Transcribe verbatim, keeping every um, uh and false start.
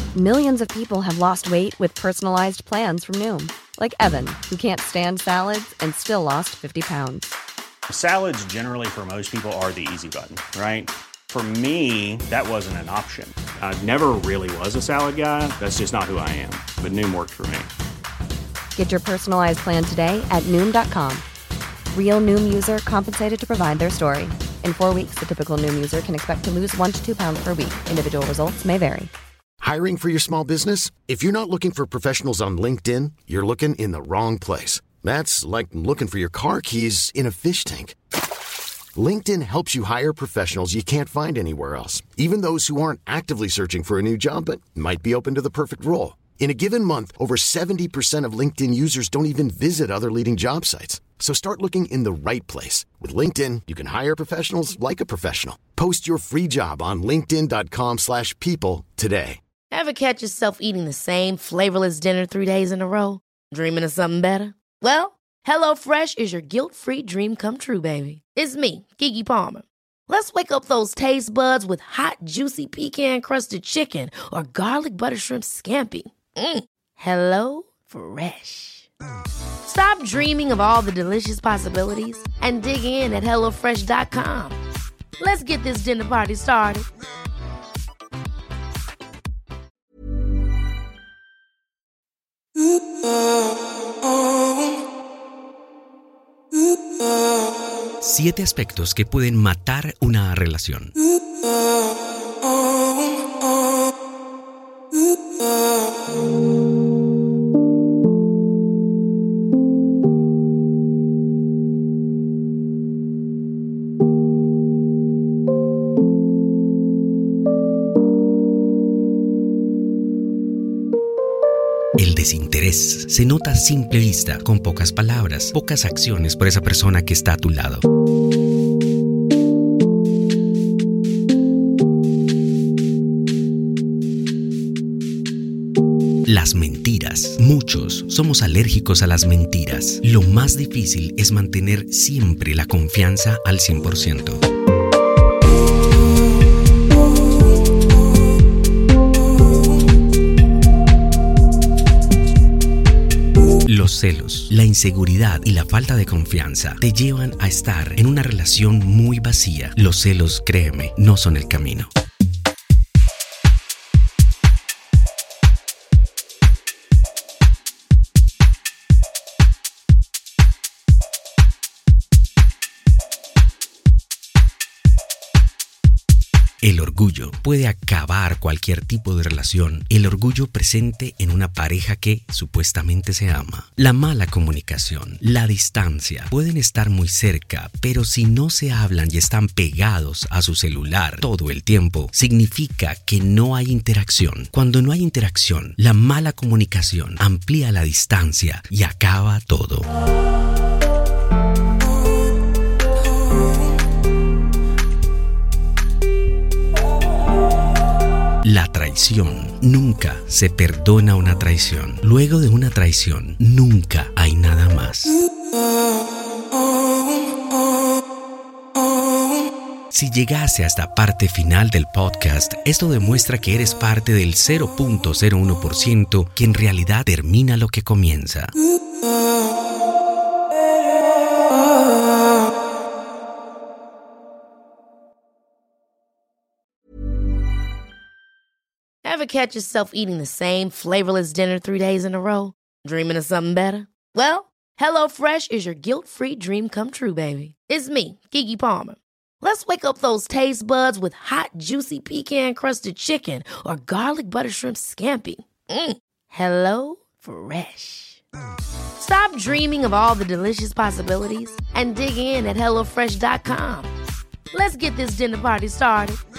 Millions of people have lost weight with personalized plans from Noom. Like Evan, who can't stand salads and still lost fifty pounds. Salads generally for most people are the easy button, right? For me, that wasn't an option. I never really was a salad guy. That's just not who I am. But Noom worked for me. Get your personalized plan today at Noom dot com. Real Noom user compensated to provide their story. In four weeks, the typical Noom user can expect to lose one to two pounds per week. Individual results may vary. Hiring for your small business? If you're not looking for professionals on LinkedIn, you're looking in the wrong place. That's like looking for your car keys in a fish tank. LinkedIn helps you hire professionals you can't find anywhere else, even those who aren't actively searching for a new job but might be open to the perfect role. In a given month, over seventy percent of LinkedIn users don't even visit other leading job sites. So start looking in the right place. With LinkedIn, you can hire professionals like a professional. Post your free job on linkedin dot com slash people today. Ever catch yourself eating the same flavorless dinner three days in a row? Dreaming of something better? Well, HelloFresh is your guilt-free dream come true, baby. It's me, Keke Palmer. Let's wake up those taste buds with hot, juicy pecan-crusted chicken or garlic butter shrimp scampi. Mm. Hello Fresh. Stop dreaming of all the delicious possibilities and dig in at hello fresh dot com. Let's get this dinner party started. Siete aspectos que pueden matar una relación. El desinterés se nota a simple vista, con pocas palabras, pocas acciones por esa persona que está a tu lado. Las mentiras. Muchos somos alérgicos a las mentiras. Lo más difícil es mantener siempre la confianza al cien por ciento. Los celos, la inseguridad y la falta de confianza te llevan a estar en una relación muy vacía. Los celos, créeme, no son el camino. El orgullo puede acabar cualquier tipo de relación. El orgullo presente en una pareja que supuestamente se ama. La mala comunicación, la distancia, pueden estar muy cerca, pero si no se hablan y están pegados a su celular todo el tiempo, significa que no hay interacción. Cuando no hay interacción, la mala comunicación amplía la distancia y acaba todo. La traición. Nunca se perdona una traición. Luego de una traición, nunca hay nada más. Si llegase a esta parte final del podcast, esto demuestra que eres parte del cero punto cero uno por ciento que en realidad termina lo que comienza. Ever catch yourself eating the same flavorless dinner three days in a row? Dreaming of something better? Well, HelloFresh is your guilt-free dream come true, baby. It's me, Keke Palmer. Let's wake up those taste buds with hot, juicy pecan-crusted chicken or garlic butter shrimp scampi. Mm. Hello Fresh. Stop dreaming of all the delicious possibilities and dig in at hello fresh dot com. Let's get this dinner party started.